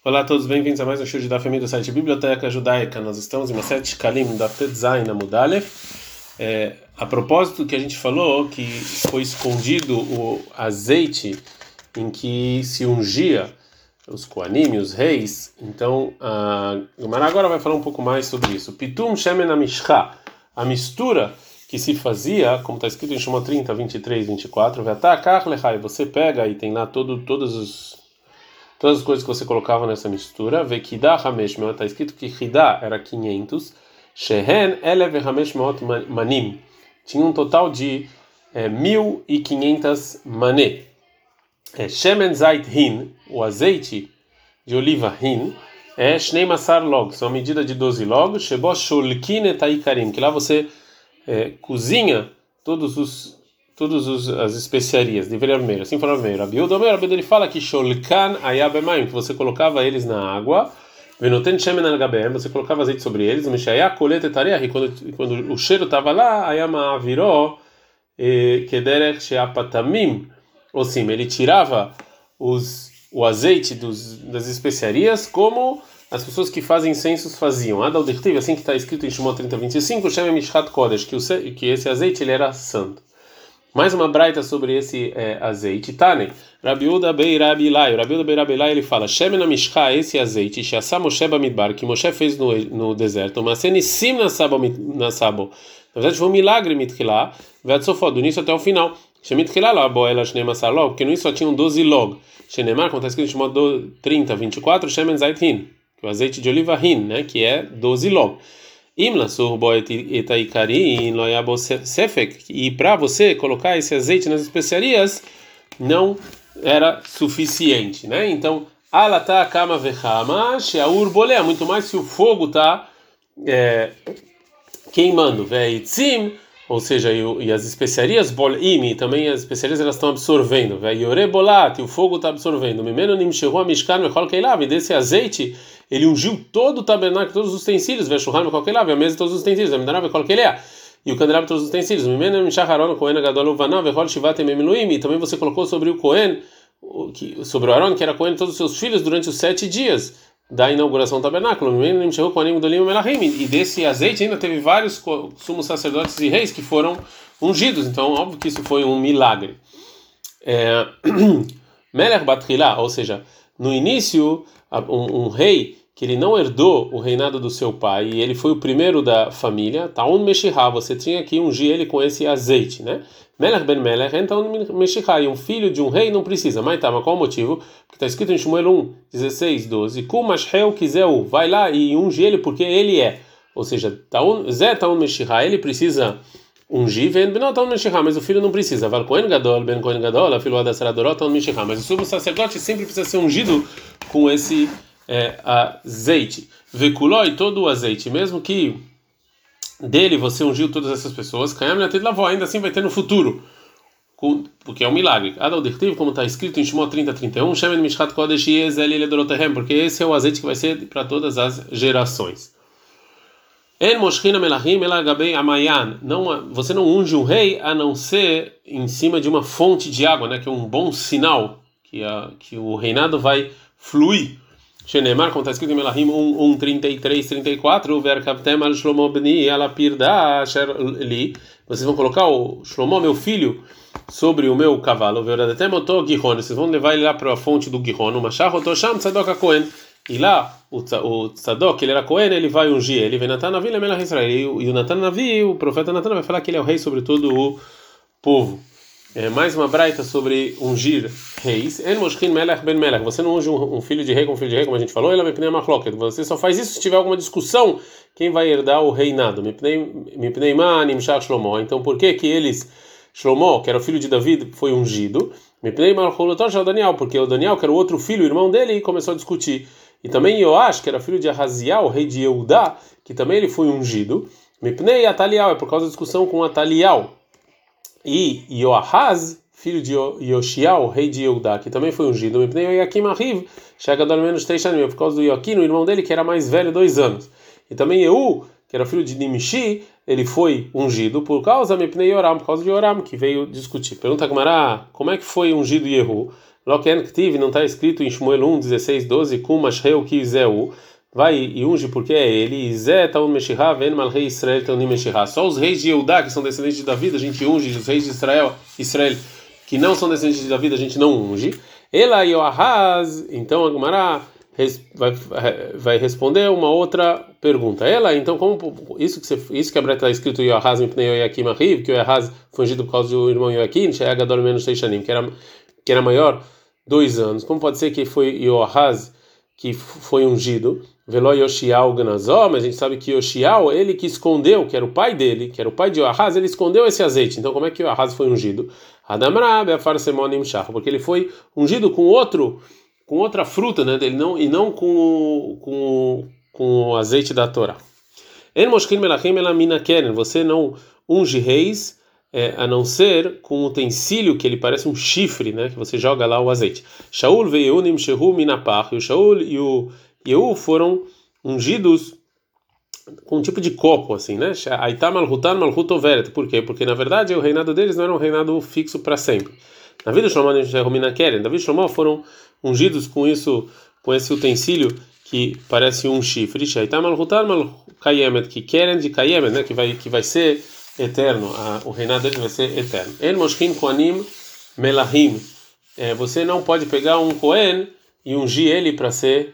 Olá a todos, bem-vindos a mais um show da família do site Biblioteca Judaica. Nós estamos em uma série de Kalim da Petzain Amud Aleph. A propósito que a gente falou que foi escondido o azeite em que se ungia os Koanim, os reis. Então, a Gemara agora vai falar um pouco mais sobre isso. Pitum Shemen Amishcha, a mistura que se fazia, como está escrito em Shemot 30, 23, 24, você pega e tem lá todas as coisas que você colocava nessa mistura, Vekidah Hamesh Meot, está escrito que Hidah era 500, Shehen Elev Hamesh Meot Manim, tinha um total de 1.500 mané. Shemen Zait Hin, o azeite de oliva Hin, é Shnei Masar Log, são a medida de 12 log, Shebo Sholkin Etaikarim, que lá você cozinha as especiarias de vermelho. Assim fala o vermelho. Rabi ele fala que Sholkan Ayabemayim, que você colocava eles na água, Venoten Shemen Al-Gabem, você colocava azeite sobre eles, Mishaya Kolete Tareah, e quando o cheiro estava lá, Ayama Aviró, Kederech Sheapatamim, ou sim, ele tirava o azeite das especiarias como as pessoas que fazem incensos faziam. Adaldirtiv, assim que está escrito em Shemot 30, 25, Shem Mishchat Kodesh, que esse azeite ele era santo. Mais uma braita sobre esse azeite. Tane, Rabi Uda Bei Rabi Ilai. Rabi Uda Bei Rabi Ilai ele fala: Shemen Amishcha, esse azeite, Sheasa Moshe Bamidbar, que Moshe fez no deserto, mas Senissim Nasabo. Na verdade foi um milagre Mitchilá, Veatsofod, do início até o final. Shemitchilá lá, Boela Shnei Masar Log, porque no início só tinham 12 log. Shenemar, como está escrito em Shemot 30, 24, Shemen Zait Hin, que é o azeite de oliva Hin, né, que é 12 log. E para você colocar esse azeite nas especiarias não era suficiente, né? Então, alata kama vechama sheaur bolea, muito mais se o fogo está queimando, veitzim, ou seja, e as especiarias bolim, também as especiarias elas estão absorvendo, veiore bolat, e o fogo está absorvendo. Mimeno nimshehu amishkan vechol keilav, e desse azeite ele ungiu todo o tabernáculo, todos os utensílios, veshulhan vechol keilav, a mesa e todos os utensílios, vemidarav vechol keilea, e o candelabro todos os utensílios. Mimeno nimshach Aaron kohen gadol uvanav vechol shivat yemim miluim, e também você colocou sobre o Cohen, sobre o Aaron, que era Cohen, todos os seus filhos durante os 7 dias da inauguração do tabernáculo. E desse azeite ainda teve vários sumos sacerdotes e reis que foram ungidos. Então, óbvio que isso foi um milagre. Melech Batrilá, ou seja, no início, um rei que ele não herdou o reinado do seu pai e ele foi o primeiro da família, Taun Meshihá, você tinha que ungir ele com esse azeite, né? Melech ben Melech, então Meshihá, e um filho de um rei não precisa. Mas tá, mas qual o motivo? Porque está escrito em Shmuel 1, 16, 12, Kumashheu Kizeu, vai lá e unge ele porque ele é. Ou seja, Zé Taun Meshihá, ele precisa ungir, Taun Meshihá, mas o filho não precisa. Val Kohen Gadol, Ben Kohen Gadol, filho da Saradorot, Taun Meshihá, mas o sumo sacerdote sempre precisa ser ungido com esse azeite. Vekuló, e todo o azeite, mesmo que dele você ungiu todas essas pessoas, ainda assim vai ter no futuro, porque é um milagre. Adaldirtiv, como está escrito em Shemot 30, 31, Shemen Mishchat Kodesh Yezel Eledorotehem, porque esse é o azeite que vai ser para todas as gerações. En Moshchina Melachim Elagabei Amayan, você não unge um rei a não ser em cima de uma fonte de água, né, que é um bom sinal que o reinado vai fluir. Shenemar, como está escrito em Melahim 1, 33, 34, Verkavtem al Shlomo bni alapirda asher li, vocês vão colocar o Shlomo, meu filho, sobre o meu cavalo, Verdadetem oto Gihon, vocês vão levar ele lá para a fonte do Gihon, o Mashach otosham Tzadok HaKohen, e lá o Tzadok, ele era Cohen, ele vai ungir ele, vem Natan Navi lemelach Israel, e o Natan Navi, o profeta Natan vai falar que ele é o rei sobre todo o povo. Mais uma braita sobre ungir reis. En moshchin melech ben melech. Você não unge um filho de rei com um filho de rei, como a gente falou. Ela me pnei machloket. Você só faz isso se tiver alguma discussão quem vai herdar o reinado. Me pnei ma nimshach Shlomo. Então por que eles, Shlomo, que era o filho de David, foi ungido? Me pnei malcholotor shel Daniel, porque o Daniel, que era o outro filho, o irmão dele, começou a discutir. E também Yoash, que era filho de Ahaziel, o rei de Eudá, que também ele foi ungido. Me pnei Ataliel, é por causa da discussão com Ataliel. E Yoahaz, filho de Yoshiao, rei de Eudá, que também foi ungido, chega do menos 3 anos, por causa do Yoquim, o irmão dele, que era mais velho, 2 anos. E também Yehu, que era filho de Nimishi, ele foi ungido por causa de Yoram, por causa de Yoram, que veio discutir. Pergunta a Gemara, como é que foi ungido Yehu? Loken Ktiv, não está escrito em Shmuel 1, 16, 12, Kumasheu Kizeu, vai e unge porque é ele, Zé Taun Meshihá, Ven Malrei Israel Taunim Meshihá. Só os reis de Eudá, que são descendentes de Davi, a gente unge, os reis de Israel, que não são descendentes de Davi, a gente não unge. Ela e Ahaz, então a Gemara vai responder uma outra pergunta. Ela, então, como isso que a Breta está escrito Yoahaz Mipnei Yoakim Ahiv, que o Yoahaz foi ungido por causa do irmão Yoakim, Sheagadol menos Sheishanim, que era maior 2 anos. Como pode ser que foi Yoahaz que foi ungido? Velo Yoshiao Gnazó, mas a gente sabe que Yoshiao, ele que escondeu, que era o pai dele, que era o pai de Yoahaz, ele escondeu esse azeite. Então, como é que Yoahaz foi ungido? Adamra Beafar Semonim Shach, porque ele foi ungido com outra fruta, né? Ele não com o azeite da Torá. En moshkin melachim elamina keren. Você não unge reis a não ser com um utensílio que ele parece um chifre, né? Que você joga lá o azeite. Shaul ve'Yehu nimshehu minapach. E o Shaul e o Yehu foram ungidos com um tipo de copo, assim, né? Aitam malhutan malhut overet. Por quê? Porque na verdade o reinado deles não era um reinado fixo para sempre. Na vida de Shlomo Davi e Shlomo foram ungidos com esse utensílio que parece um chifre. Shaitam malhutan malkayemet, que querem de kayemet, né? Que vai ser eterno. O reinado deles vai ser eterno. El moshkin koanim melahim. Você não pode pegar um kohen e ungir ele para ser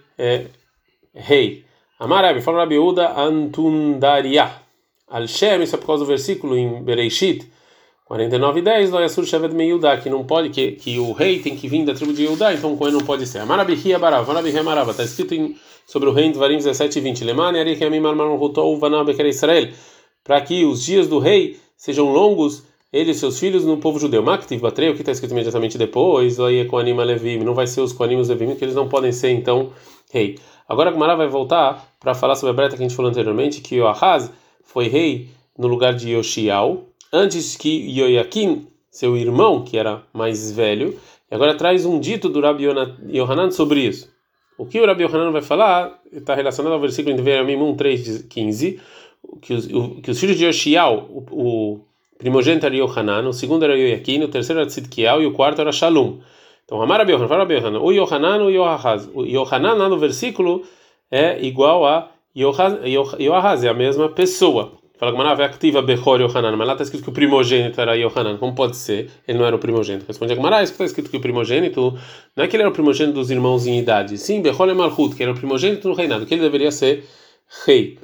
rei. Amarabi, fala Rabi Uda Antundaria. Al-Shem, isso é por causa do versículo em Bereishit 49:10, lo yasur shevet me Yudá, que não pode, que o rei tem que vir da tribo de Yudá, então o Cohen não pode ser. Amarabi Hia Barav, Amarabi Hia Marava, está escrito sobre o rei em Dvarim 17:20. Lemani Ari Yamim Marmaron Rutou Vanah Beker Israel, para que os dias do rei sejam longos, ele e seus filhos no povo judeu. Maktiv Batrei, o que está escrito imediatamente depois, lo Yeh Koanim Alevim, não vai ser os Koanim e os Levim, que eles não podem ser então rei. Agora a Gemara vai voltar para falar sobre a breta que a gente falou anteriormente, que Yoahaz foi rei no lugar de Yoshiao, antes que Yoakim, seu irmão, que era mais velho, e agora traz um dito do Rabi Yohanan sobre isso. O que o Rabi Yohanan vai falar está relacionado ao versículo em Devarim 1:3-15, que os filhos de Yoshiao, o primogênito era Yohanan, o segundo era Yoakim, o terceiro era Tzidkiel e o quarto era Shalom. Então, Amar Rabi Yohanan, fala Rabi Yohanan, o Yohanan ou Yoahaz. O Yohanan lá no versículo é igual a Yoahaz, é a mesma pessoa. Fala que Marav é ativa Bechor Yohanan, mas lá está escrito que o primogênito era Yohanan. Como pode ser? Ele não era o primogênito. Responde a Gemara, está escrito que o primogênito não é que ele era o primogênito dos irmãos em idade. Sim, Bechor é Malchut, que era o primogênito no reinado, que ele deveria ser rei.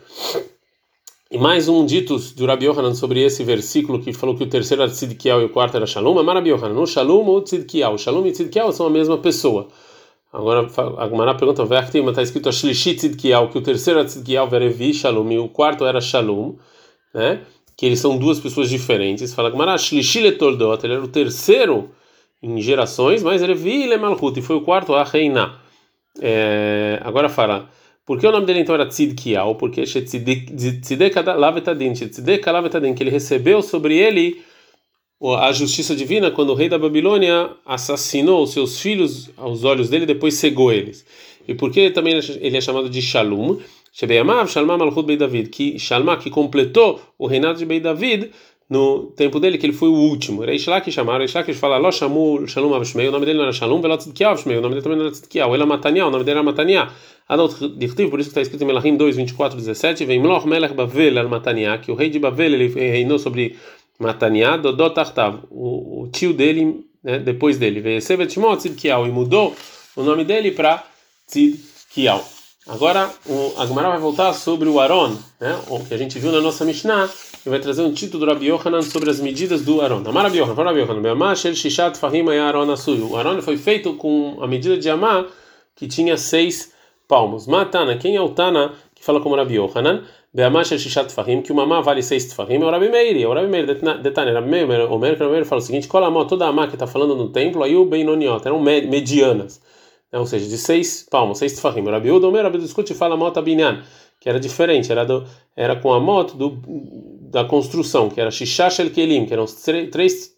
E mais um dito do Rabi Yohanan sobre esse versículo que falou que o terceiro era Tzidkiel e o quarto era Shalom. Amar Rabi Yohanan, o Shalom ou Tzidkiel? Shalom e Tzidkiel são a mesma pessoa. Agora a Gemara pergunta, mas está escrito a Shlishi Tzidkiel, que o terceiro era Tzidkiel, Verevi, Shalom, e o quarto era Shalom, né? Que eles são duas pessoas diferentes. Fala Gemara, Shlishi Letoldot, ele era o terceiro em gerações, mas Verevi Lemalchut, e foi o quarto a reinar. Agora fala, por que o nome dele então era Tzidkiel? Porque Tzidek Lavetadin, que ele recebeu sobre ele a justiça divina quando o rei da Babilônia assassinou os seus filhos aos olhos dele e depois cegou eles. E por que também ele é chamado de Shalom? Shebeyamav Shalma Malchut Bei David, que Shalma, que completou o reinado de Bei David no tempo dele, que ele foi o último. Reish Lakish chamaram, Reish Lakish fala Lo Shamu Shalom Avshmei, o nome dele não era Shalom, Velo Tzidkiel Avshmei, o nome dele também não era Tzidkiel, Ela Mataniah, o nome dele era Mataniah. Adot Dichtiv, por isso que está escrito em Melachim 2:24-17, vem Mloch Melech Bavel al Mataniah, que o rei de Bavel ele reinou sobre Mataniah, Dodot Tartav, o tio dele, né, depois dele, veio Sevet Shmo Tzidkiel, e mudou o nome dele para Tzidkiel. Agora a Gemara vai voltar sobre o Aron, né, o que a gente viu na nossa Mishnah, e vai trazer um título do Rabi Yohanan sobre as medidas do Aron. Amar Rabi Yohanan, fala Rabi Yohanan, Be'amah shel shishat fahim haya Aron asui. O Aron foi feito com a medida de Amah que tinha 6 palmos. Matana, quem é o Tana que fala como Rabi Yohanan? Be'amah shel shishat fahim, que uma Amah vale 6 tfahim, é o Rabi Meir. O Rabi Meir detane, Rabi Meir, o Meir fala o seguinte: Kolamó, toda a Amah que está falando no templo, aí o Beinoniot, eram medianas, ou seja, de 6 palmos, 6 tfahim. O Rabi Uda, o Meir, Rabi discute fala Mota Binyan, que era diferente, era com a moto da construção, que era Shisha Shel Kelim, que eram 6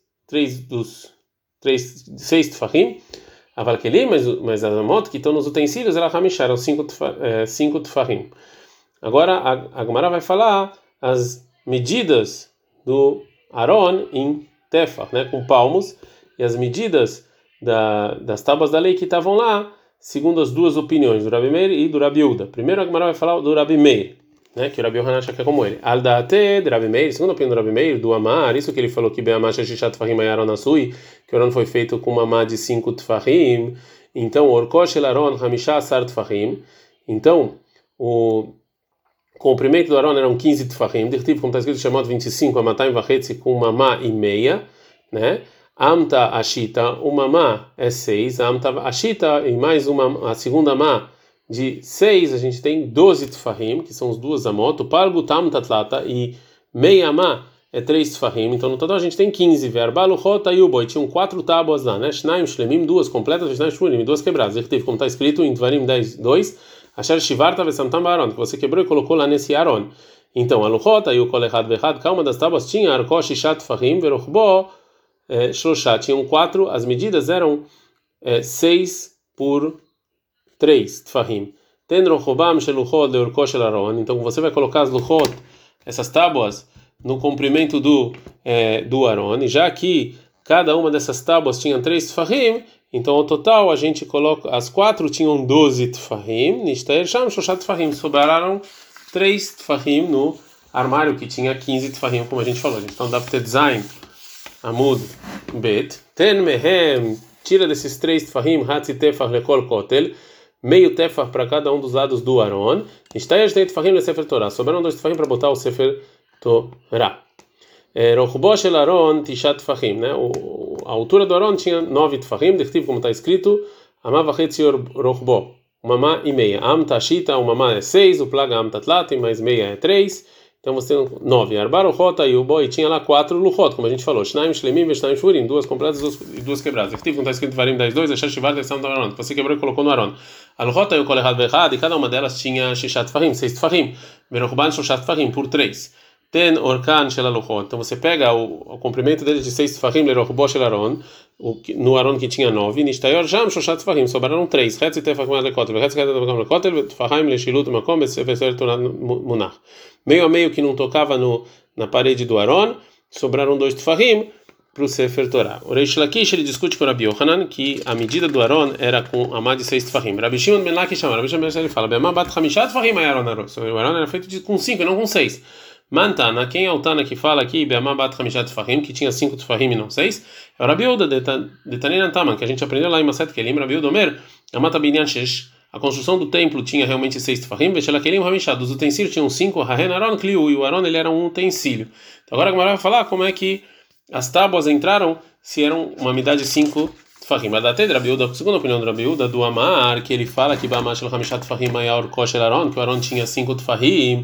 tfahim, Aval Kelim, mas a moto que estão nos utensílios era Hamishá, eram 5 tfahim. Agora a Gemara vai falar as medidas do Aron em Tefah, né, com palmos, e as medidas das tábuas da lei que estavam lá, segundo as duas opiniões, do Rabi Meir e do Rabi Uda. Primeiro a Gemara vai falar do Rabi Meir, né, que o Rabi Yohanan acha que é como ele. Al da'ate de Rabi Meir, segundo a opinião do Rabi Meir, do Amar, isso que ele falou que Be'amar sheshishat tfahim ayaron asui, que o Aron foi feito com uma amá de 5 tfahim, então orkosh el Aron hamisha asar tfahim, então o comprimento do Aron eram 15 tfahim, diretivo, como está escrito, chamado 25, amatayim vachetzi, com uma amá e meia, né? Amta ashita, uma amá é 6, amta ashita e mais uma, a segunda amá de 6, a gente tem 12 tfahim, que são os duas amot, palgu tam tatlata, e meia amá é 3 tfahim, então no total a gente tem 15, verbalu rota e uboi, tinham 4 tábuas lá, né? Shnaim shlemim, 2 completas, shnaim shmurim, 2 quebradas, diretivo, como está escrito em Dvarim 10, 2, Asher shivarta vesamtam ba'aron, que você quebrou e colocou lá nesse Aron. Então, a luchota e o kolechad vechad, cada uma das tábuas tinha arkosh shishat tfahim, verochbo shlosha, tinham 4, as medidas eram 6 por 3 tfahim. Ten rochobam sheluchot leorkosh el Aron, então você vai colocar as luchot, essas tábuas, no comprimento do Aron, e já que cada uma dessas tábuas tinha 3 tfahim, então, ao total, a gente coloca. As 4 tinham 12 tfahim, nishtaer sham shoshat tfahim. Sobraram 3 tfahim no armário que tinha 15 tfahim, como a gente falou. Então, dá para ter design, amud, bet. Ten mehem, tira desses 3 tfahim, hatzi tefah lekol kotel, meio tefah para cada um dos lados do Aron. Nishtaer shtei tfahim le sefer Torah. Sobraram 2 tfahim para botar o sefer Torah. Rochbo shel Aron tishat tfahim, né? A altura do Aron tinha 9 tfahim, diretivo, como está escrito, amá vachetzi rochbo, uma amá e meia. Am tashita, uma amá é 6, o plaga am tatlat, mais meia é 3, então você tem 9. Arba rochota e o boi tinha lá 4 luchot, como a gente falou, shnaim shlemim ve shnaim shvurim, 2 completas e 2 quebradas. Diretivo, como está escrito em Varim 10:2, achar shivar desam do Aron, você quebrou e colocou no Aron. A luchota e o kolechad vechad, e cada uma delas tinha shishat tfahim, 6 tfahim, verochban shoshat tfahim, por 3. Ten orkan shel aluchot. Então você pega o comprimento dele de 6 tfahim lerochbo shel Aron, no Aron que tinha 9, nishtayor jam shoshat tfahim, sobraram 3. Hetzi tefach mal lekotel, hetzi tefach mal lekotel, tfahim leshilut makom besefer Torah munach. Meio a meio que não tocava na parede do Aron, sobraram 2 tfahim para o sefer Torah. O Reish Lakish ele discute com o Rabi Yohanan que a medida do Aron era com amá de 6 tfahim. Rabi Shimon ben Lakish chama, Rabi Shimon ele fala, be'amá bat chamishat tfahim Aron. O Aron era feito com 5 e não com 6. Mantana, quem é o Tana que fala aqui, Be'amá bat chamishat tfahim, que tinha 5 tfahim e não 6? É o Rabi Uda de Tanenan Taman, que a gente aprendeu lá em Maset Kelim, Rabi Uda Omer, Amata binyan shesh. A construção do templo tinha realmente 6 tfahim, Veshela Kelim Hamishad, dos utensílios tinham 5, Hahen Aron Kliu, e o Aron ele era um utensílio. Então agora a Gemara vai falar como é que as tábuas entraram, se eram uma medida de 5 tfahim. Mas até de Rabi Uda, segundo a opinião do Rabi Uda, do Amar, que ele fala que Be'amá shel chamishat tfahim maior kosher Aron, que o Aron tinha 5 tfahim,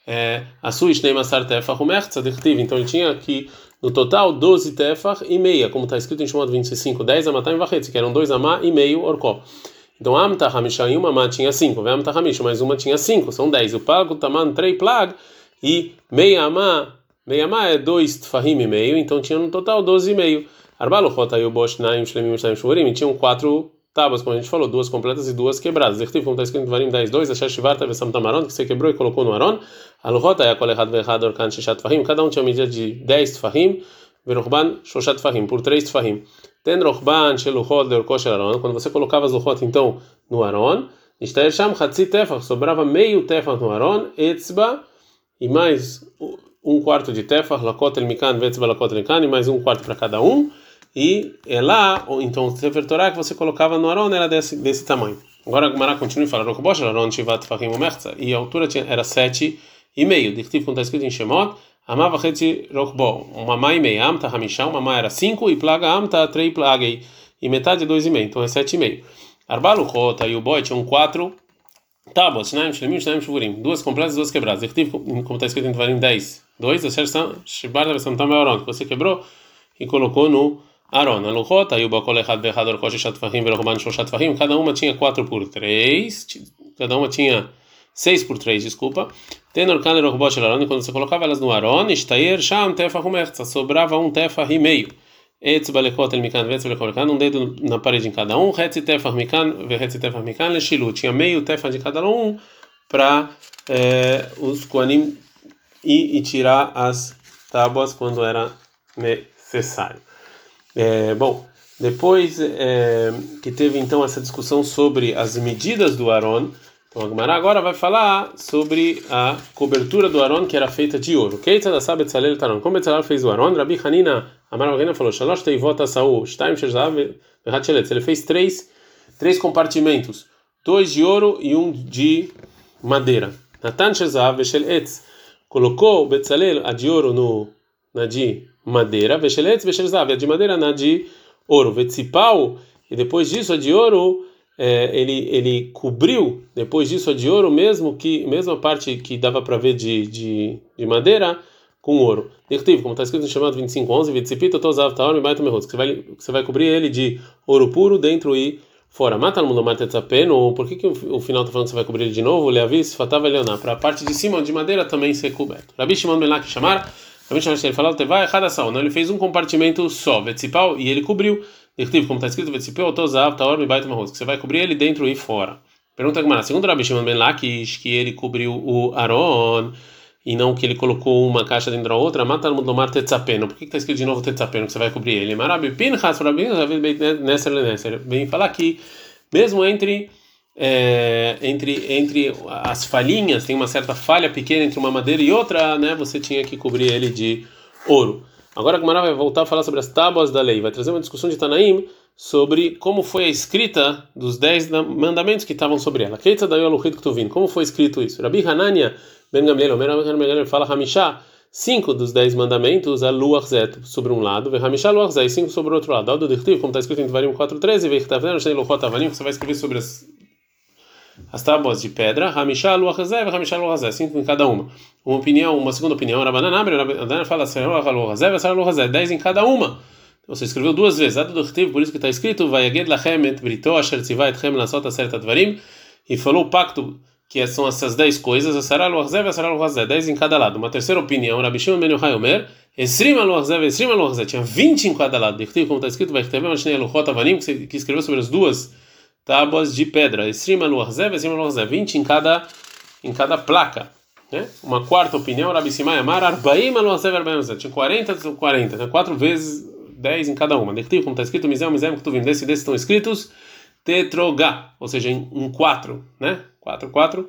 a sua Shneimasar tefach umertza dirtiv, então ele tinha aqui no total 12 tefach e meia, como está escrito em Shemot 25, 10 amatayim vachetzi, que eram 2 amá e meio orkó. Então amta hamisha e uma amá tinha 5, amta hamisha mais uma tinha 5, são 10. O pago taman 3 plag e meia amá é 2 tfahim e meio, então tinha no total 12 e meio. Arbaluchot aí o bosh naim shlemim shnaim shvurim, tinham 4 tábuas, como a gente falou, 2 completas e 2 quebradas. Dirtiv, como está escrito em Varim 10:2, Asher shivarta vesamtam Aron, que você quebrou e colocou no Aron. Aluchot é a kolechad vechad orkan shishat tfahim, cada um tinha medida de 10 tfahim, verochban shoshat tfahim, por 3 tfahim. Ten rochban sheluchot leorkosh el Aron, quando você colocava as luchot então no Aron, nishtaer sham chatzi tefach, sobrava meio tefach no Aron, etzba e mais 1/4 de tefach, lakotel mikan vetzba lakotel mikan, e mais 1/4 para cada um. E é lá, então o sefer Torah que você colocava no Aron era desse tamanho. Agora a Gemara continua e fala, Rochbosh Aron shivat tfahim umertza, e a altura era 7,5. Dirtiv, como está escrito em Shemot, amá vachetzi rochbo, uma amá e meia, amta hamishá, uma amá era 5, e plaga amta 3 plagei, e metade 2,5, então é 7,5. Arba luchot, e o boi tinham 4 tábuas, shnaim shlemim, shnaim shvurim, 2 completas e 2 quebradas. Dirtiv, como está escrito em Tvarim 10:2, Asher shivarta vesamtam Aron, que você quebrou e colocou no Aron, a luchota, e o bakolechad vechad orkosh shishat tfahim verochban shoshat tfahim, cada uma tinha 4 por 3, cada uma tinha 6 por 3, desculpa. Ten orkan lerochbo shel Aron, quando você colocava elas no Aron, ishtayer sham tefach umertza, sobrava 1 tefach e meio. Etzba lekotel mikan vetzba lekol mikan, dedo na parede em cada um, hetzi tefach mikan vehetzi tefach mikan leshilut, tinha meio tefach de cada um para os koanim e tirar as tábuas quando era necessário. Bom, Depois que teve então essa discussão sobre as medidas do Aron, então a Gemara agora vai falar sobre a cobertura do Aron que era feita de ouro. Keita sabe Betzalel Taron. Como Betzalel fez o Aron, Rabi Hanina Amar Hanina falou: Shalosh teivot asaú, shtaim shezav v'hat. Ele fez três compartimentos, dois de ouro e um de madeira. Natan shezav v'shel etz. Colocou Betzalel a de ouro na de madeira, v'shel etz v'shel zav, a de madeira na de ouro. Vetzipau, e depois disso a de ouro ele cobriu, depois disso a de ouro, mesma parte que dava para ver de madeira, com ouro. Como está escrito no chamado 25:11, Vitzipita tozav taor mibaito mehutz, que você vai cobrir ele de ouro puro dentro e fora. Mata no mundo martetzapeno, por que o final está falando que você vai cobrir ele de novo? Leavis fatava leonar, para a parte de cima de madeira também ser coberto. Rabi Shimon ben Lakish chamar, ele falou, não, ele fez um compartimento só, Vetzipau, e ele cobriu. Como está escrito, Vetzipau tozav taor mibaito mehutz, que você vai cobrir ele dentro e fora. Pergunta Gemara, segundo Rabi Shimon ben Lakish, que ele cobriu o Aron e não que ele colocou uma caixa dentro da outra, mata no mundo tetzapeno. Por que está escrito de novo tetzapeno, que você vai cobrir ele? Marabi Pinchas, bem falar que mesmo entre as falhinhas, tem uma certa falha pequena entre uma madeira e outra, né? Você tinha que cobrir ele de ouro. Agora a Gemara vai voltar a falar sobre as tábuas da lei, vai trazer uma discussão de Tanaim sobre como foi a escrita dos 10 mandamentos que estavam sobre ela. Como foi escrito isso? Rabi Hanania Ben Gamliel fala Hamishá, 5 dos 10 mandamentos, a Luach Zet sobre um lado, Hamishá Luach Zet, 5 sobre o outro lado. Aldo Dirtiv, como está escrito em Devarim 4:13, que você vai escrever sobre as tábuas de pedra, Hamishá Luach Zet, Hamishá Luach Zet, 5 em cada uma. Uma segunda opinião, Rabanana fala 10 em cada uma. Você escreveu 2 vezes, por isso que está escrito, Vayaged lachem et brito asher tzivah etchem lasot aseret advarim, e falou o pacto, que são essas 10 coisas, a Sarah Luachzev e a Sarah Luachzev, 10 em cada lado. Uma terceira opinião, Rabi Shimon ben Yochai Omer, Esrim Luachzev, Esrim Luachzev, tinha 20 em cada lado. Como está escrito, que escreveu sobre as 2 tábuas de pedra. Esrim Luachzev, Esrim Luachzev, 20 em cada placa. Né? Uma quarta opinião, Rabi Simai Amar, Arbaim Luachzev, Arbaim Luachzev, tinha 40, né? 4 vezes 10 em cada uma. Como está escrito, Mizem, Ketuvim, desses estão escritos tetrogá, ou seja, em 4, né? 4,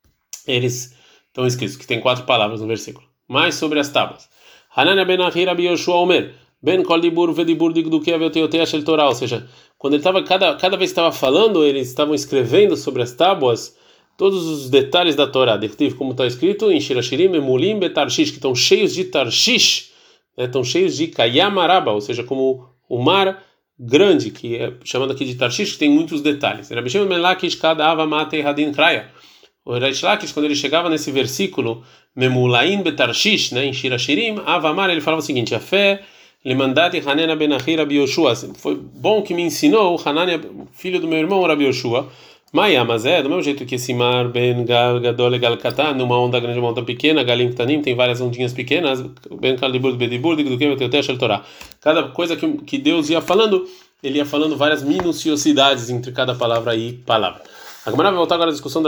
eles estão escritos, que tem 4 palavras no versículo. Mais sobre as tábuas. Hanania ben Ahi Rabi Yoshua Omer, ben kol dibur vedibur digdukia veoteotea shel Torah, ou seja, quando ele estava, cada vez que estava falando, eles estavam escrevendo sobre as tábuas todos os detalhes da Torá, como está escrito em Shirashirim, Emulim, Betarshish, que estão cheios de Tarshish, né? Estão cheios de Kayamaraba, ou seja, como o mar grande, que é chamado aqui de Tarshish, que tem muitos detalhes. Rabi Shimon ben Lakish kada ava matei hadin kraya. O Reish Lakish, quando ele chegava nesse versículo Memulaim betarshish, né, em Shirashirim, Avamar, ele falava o seguinte: a fé lemandati Hanania ben Ahi Rabi Yoshua, foi bom que me ensinou Hanania, filho do meu irmão Rabi Yoshua. Maia, mas do mesmo jeito que esse mar ben gal gadol gal katan, numa onda grande, uma onda pequena, galim ktanim, tem várias ondinhas pequenas, ben kalibur bedibur do que eu tenho Torá. Cada coisa que Deus ia falando, ele ia falando várias minuciosidades entre cada palavra e palavra. A Gemara vai voltar agora à discussão do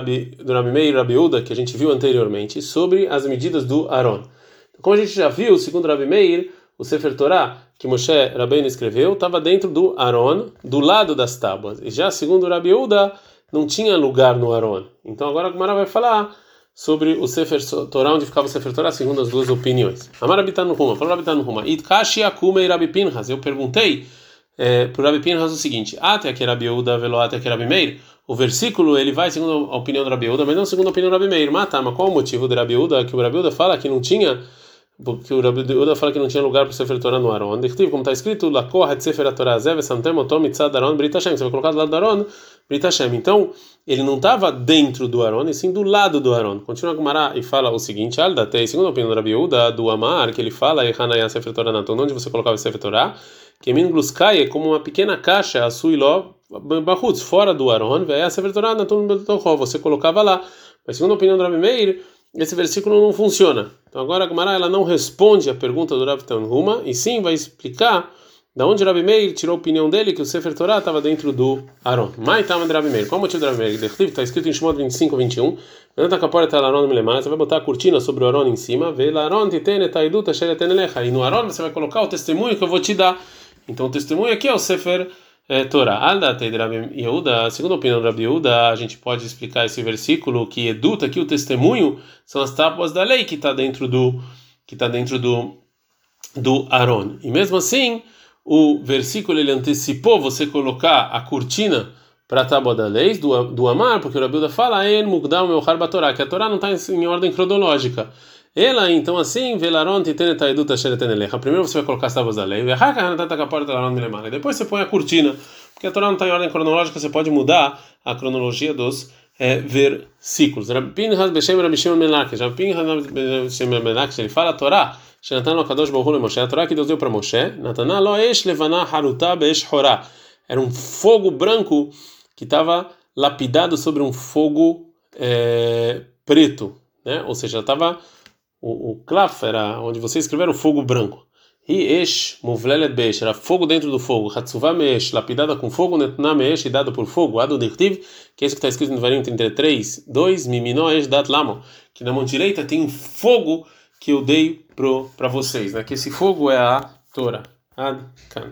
Rabi Meir e Rabi Uda, que a gente viu anteriormente, sobre as medidas do Aron. Como a gente já viu, segundo Rabi Meir, o Sefer Torá que Moshe Rabbeinu escreveu estava dentro do Aron, do lado das tábuas. E já segundo Rabi Uda, não tinha lugar no Aron. Então agora a Gemara vai falar sobre o Sefer Torá, onde ficava o Sefer Torá, segundo as 2 opiniões. Amar Rabi Tanuhuma, falou Rabi Tanuhuma, Itkashi Akumei Rabi Pinchas. Eu perguntei para o Rabi Pinchas o seguinte: até que Rabi Uda velo até que Rabi Meir. O versículo ele vai segundo a opinião do Rabi Uda, mas não segundo a opinião do Rabi Meir. Mas qual o motivo do Rabi Uda? Que o Rabi Uda fala que não tinha, porque o Rabi Uda fala que não tinha lugar para o Sefer Torá no Aron. Como está escrito, Lakohat Sefer Torá Zev Santem Otom Mitzad Aron Brit Hashem. Você vai colocar do lado do Aron, Brit Hashem. Então ele não estava dentro do Aron, e sim do lado do Aron. Continua a Gemara e fala o seguinte: Aldatei, segundo a opinião do Rabi Uda, do Amar, que ele fala Hanaya Sefer Torá Naton, onde você colocava o Sefer Torá, que Min Gluskai é como uma pequena caixa, a Suiló Bahutz, fora do Aron, vai a Sefer Torá Naton Betochó, você colocava lá. Mas segundo a opinião do Rabi Meir, esse versículo não funciona. Então agora a Gemara ela não responde a pergunta do Rabi Tanhuma, e sim vai explicar da onde Rabi Meir tirou a opinião dele que o Sefer Torá estava dentro do Aron. Mas estava de Rabi Meir. Qual o motivo do Rabi Meir? Está escrito em Shemot 25:21. Você vai botar a cortina sobre o Aron em cima. E no Aron você vai colocar o testemunho que eu vou te dar. Então o testemunho aqui é o Sefer Torah. Aldatei de Rabi Yehuda, segundo a opinião do Rabi Yehuda, a gente pode explicar esse versículo que eduta aqui o testemunho são as tábuas da lei que está dentro do Aron. E mesmo assim, o versículo ele antecipou você colocar a cortina para a tábua da lei do Amar, porque o Rabi Yehuda fala en mugdam meuchar batorá, que a Torá não está em ordem cronológica. Ela, então, assim, velaron titenet haedut asher eten elecha. Primeiro você vai colocar as tábuas da lei, e depois você põe a cortina, porque a Torá não está em ordem cronológica, você pode mudar a cronologia dos versículos. Rabi Pinchas Beshem Rabi Shimon ben Lakish, Rabi Pinchas Beshem ben Lakish, ele fala a Torá, Shenatan lo Kadosh Baruch Hu le Moshe, a Torá que Deus deu para Moshe, Nataná lo esh levaná haruta be'esh horá, era um fogo branco que estava lapidado sobre um fogo preto, né? Ou seja, estava o klaf era onde você escrever o fogo branco. E esh muvlelet be'esh era fogo dentro do fogo. Hatzuvah me'esh lapidada com fogo, netna me'esh e dado por fogo. Ado dirtiv, que é isso que está escrito no Devarim 33, 2, mimino esh dat lamo, que na mão direita tem um fogo que eu dei para vocês, né? Que esse fogo é a Torá. Ad kan.